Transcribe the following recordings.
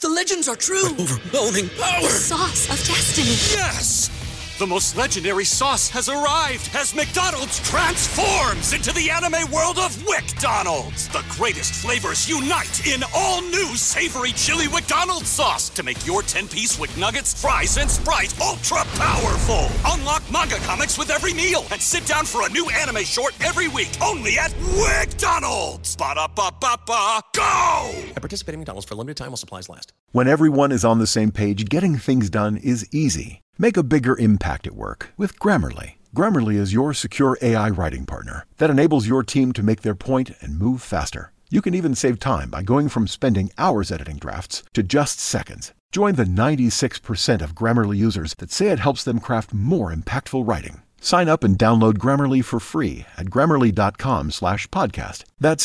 The legends are true. Overwhelming power! Sauce of destiny. Yes! The most legendary sauce has arrived as McDonald's transforms into the anime world of WickDonald's. The greatest flavors unite in all new savory chili McDonald's sauce to make your 10-piece Wick Nuggets, fries, and Sprite ultra-powerful. Unlock manga comics with every meal and sit down for a new anime short every week only at WickDonald's. Ba-da-ba-ba-ba, go! At participating McDonald's for a limited time while supplies last. When everyone is on the same page, getting things done is easy. Make a bigger impact at work with Grammarly. Grammarly is your secure AI writing partner that enables your team to make their point and move faster. You can even save time by going from spending hours editing drafts to just seconds. Join the 96% of Grammarly users that say it helps them craft more impactful writing. Sign up and download Grammarly for free at Grammarly.com/podcast. That's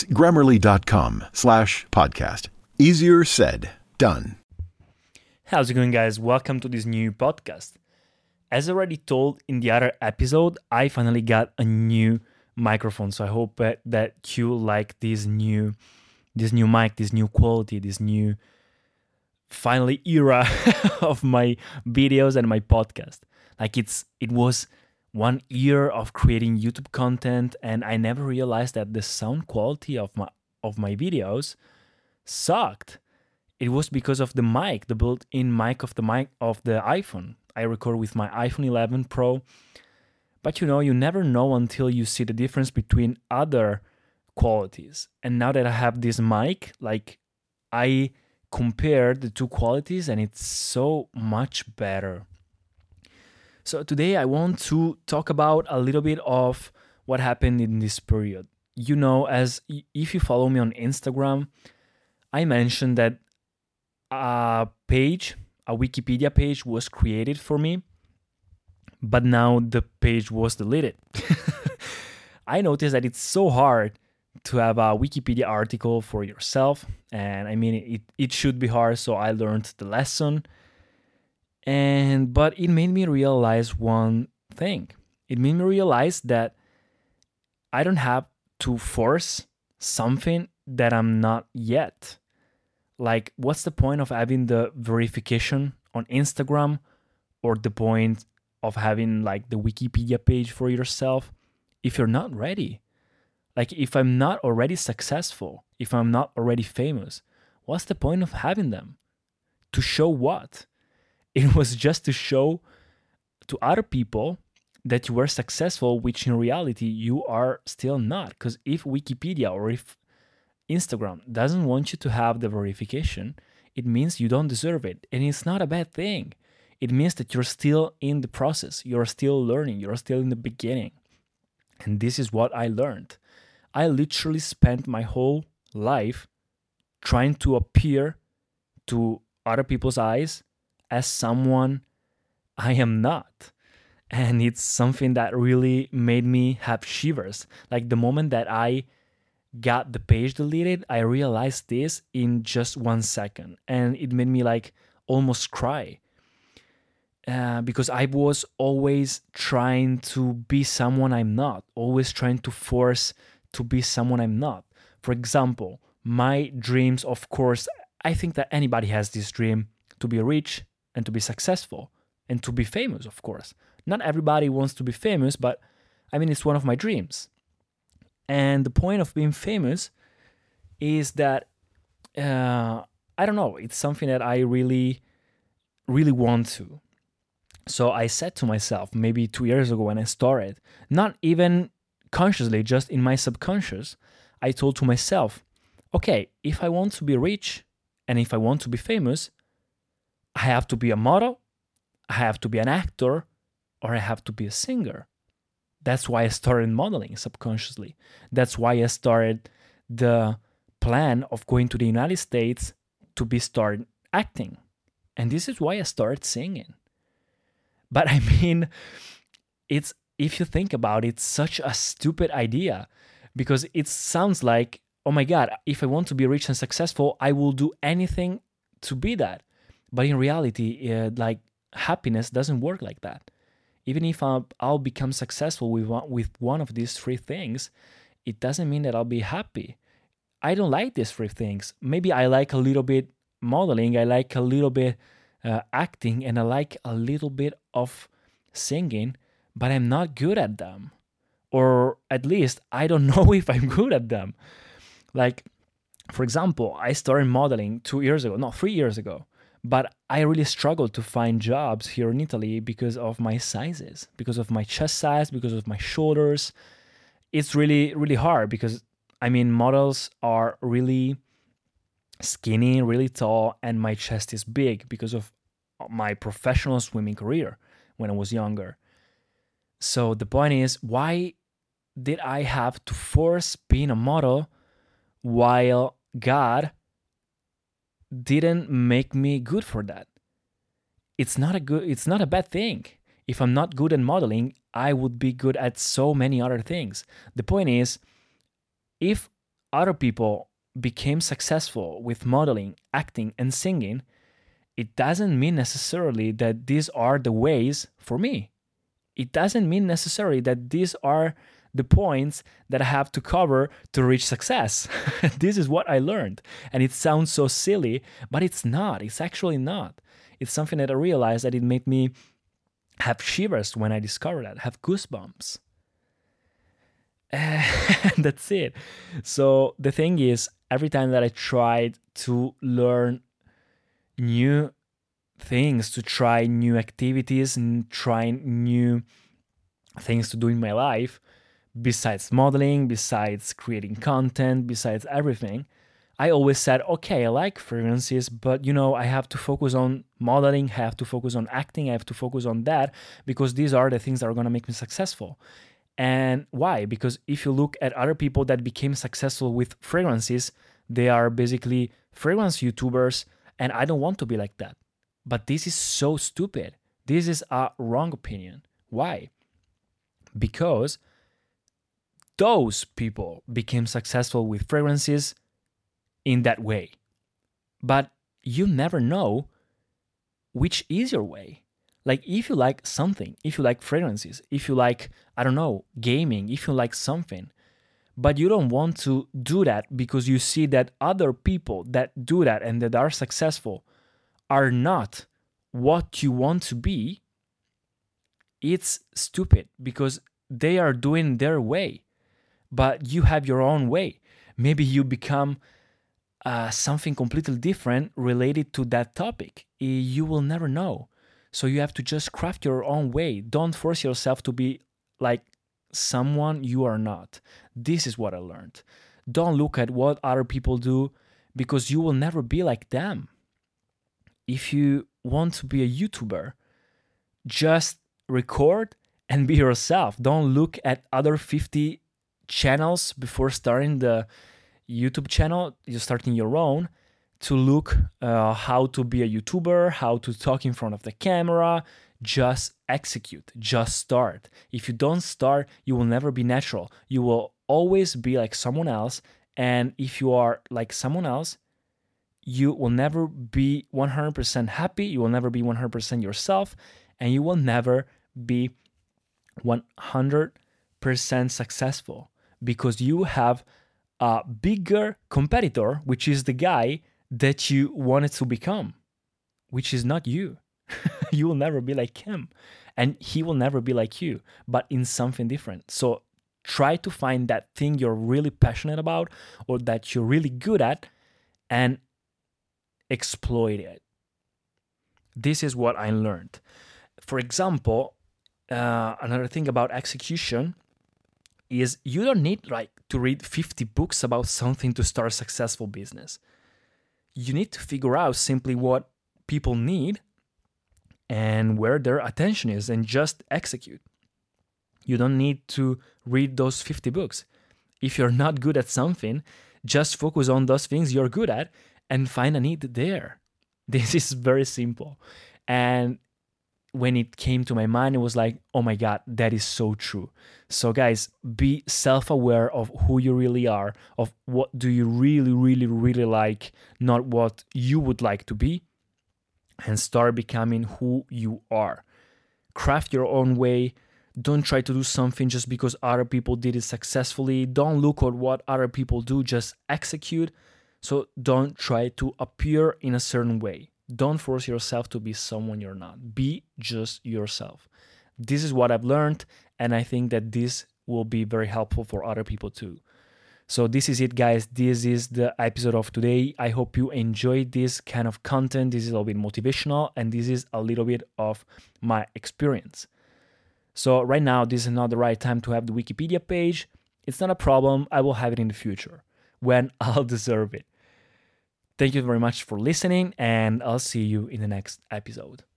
Grammarly.com/podcast. Easier said, done. How's it going, guys? Welcome to this new podcast. As already told in the other episode, I finally got a new microphone. So I hope that you like this new mic, this new quality, this new finally era of my videos and my podcast. Like it was 1 year of creating YouTube content, and I never realized that the sound quality of my videos sucked. It was because of the mic, the built-in mic of the iPhone. I record with my iPhone 11 Pro, but you never know until you see the difference between other qualities. And now that I have this mic, like I compared the two qualities and it's so much better. So today I want to talk about a little bit of what happened in this period. As if you follow me on Instagram, I mentioned that a Wikipedia page was created for me, but now the page was deleted. I noticed that it's so hard to have a Wikipedia article for yourself, and I mean it should be hard, so I learned the lesson. But it made me realize one thing. It made me realize that I don't have to force something that I'm not yet. Like, what's the point of having the verification on Instagram, or the point of having like the Wikipedia page for yourself if you're not ready? Like, if I'm not already successful, if I'm not already famous, what's the point of having them? To show what? It was just to show to other people that you were successful, which in reality you are still not. Because if Wikipedia or if Instagram doesn't want you to have the verification, it means you don't deserve it. And it's not a bad thing. It means that you're still in the process. You're still learning. You're still in the beginning. And this is what I learned. I literally spent my whole life trying to appear to other people's eyes as someone I am not. And it's something that really made me have shivers. Like the moment that I got the page deleted, I realized this in just 1 second, and it made me like almost cry because I was always trying to be someone I'm not, always trying to force to be someone I'm not. For example, my dreams, of course, I think that anybody has this dream to be rich and to be successful and to be famous, of course. Not everybody wants to be famous, but I mean, it's one of my dreams. And the point of being famous is that, I don't know, it's something that I really, really want to. So I said to myself, maybe 2 years ago when I started, not even consciously, just in my subconscious, I told to myself, okay, if I want to be rich and if I want to be famous, I have to be a model, I have to be an actor, or I have to be a singer. That's why I started modeling subconsciously. That's why I started the plan of going to the United States to start acting. And this is why I started singing. But I mean, if you think about it, it's such a stupid idea, because it sounds like, oh my God, if I want to be rich and successful, I will do anything to be that. But in reality, like happiness doesn't work like that. Even if I'll become successful with one of these three things, it doesn't mean that I'll be happy. I don't like these three things. Maybe I like a little bit modeling, I like a little bit acting, and I like a little bit of singing, but I'm not good at them. Or at least I don't know if I'm good at them. Like, for example, I started modeling 3 years ago, but I really struggled to find jobs here in Italy because of my sizes, because of my chest size, because of my shoulders. It's really, really hard because, I mean, models are really skinny, really tall, and my chest is big because of my professional swimming career when I was younger. So the point is, why did I have to force being a model while God didn't make me good for that? It's not a bad thing. If I'm not good at modeling, I would be good at so many other things. The point is, if other people became successful with modeling, acting, and singing, it doesn't mean necessarily that these are the ways for me. It doesn't mean necessarily that these are the points that I have to cover to reach success. This is what I learned. And it sounds so silly, but it's not. It's actually not. It's something that I realized that it made me have shivers when I discovered that, have goosebumps. And that's it. So the thing is, every time that I tried to learn new things, to try new activities and try new things to do in my life, besides modeling, besides creating content, besides everything, I always said, okay, I like fragrances, but I have to focus on modeling, I have to focus on acting, I have to focus on that, because these are the things that are going to make me successful. And why? Because if you look at other people that became successful with fragrances, they are basically fragrance YouTubers, and I don't want to be like that. But this is so stupid. This is a wrong opinion. Why? Because those people became successful with fragrances in that way. But you never know which is your way. Like, if you like something, if you like fragrances, if you like, I don't know, gaming, if you like something, but you don't want to do that because you see that other people that do that and that are successful are not what you want to be, it's stupid, because they are doing their way, but you have your own way. Maybe you become something completely different related to that topic. You will never know. So you have to just craft your own way. Don't force yourself to be like someone you are not. This is what I learned. Don't look at what other people do, because you will never be like them. If you want to be a YouTuber, just record and be yourself. Don't look at other 50 channels before starting the YouTube channel. You're starting your own to look how to be a YouTuber, how to talk in front of the camera. Just execute, just start. If you don't start, you will never be natural. You will always be like someone else. And if you are like someone else, you will never be 100% happy. You will never be 100% yourself. And you will never be 100% successful, because you have a bigger competitor, which is the guy that you wanted to become, which is not you. You will never be like him, and he will never be like you, but in something different. So try to find that thing you're really passionate about, or that you're really good at, and exploit it. This is what I learned. For example, another thing about execution is you don't need to read 50 books about something to start a successful business. You need to figure out simply what people need and where their attention is, and just execute. You don't need to read those 50 books. If you're not good at something, just focus on those things you're good at and find a need there. This is very simple. And when it came to my mind, it was like, oh my God, that is so true. So guys, be self-aware of who you really are, of what do you really, really, really like, not what you would like to be, and start becoming who you are. Craft your own way. Don't try to do something just because other people did it successfully. Don't look at what other people do, just execute. So don't try to appear in a certain way. Don't force yourself to be someone you're not. Be just yourself. This is what I've learned, and I think that this will be very helpful for other people too. So this is it, guys. This is the episode of today. I hope you enjoyed this kind of content. This is a little bit motivational, and this is a little bit of my experience. So right now, this is not the right time to have the Wikipedia page. It's not a problem. I will have it in the future when I'll deserve it. Thank you very much for listening, and I'll see you in the next episode.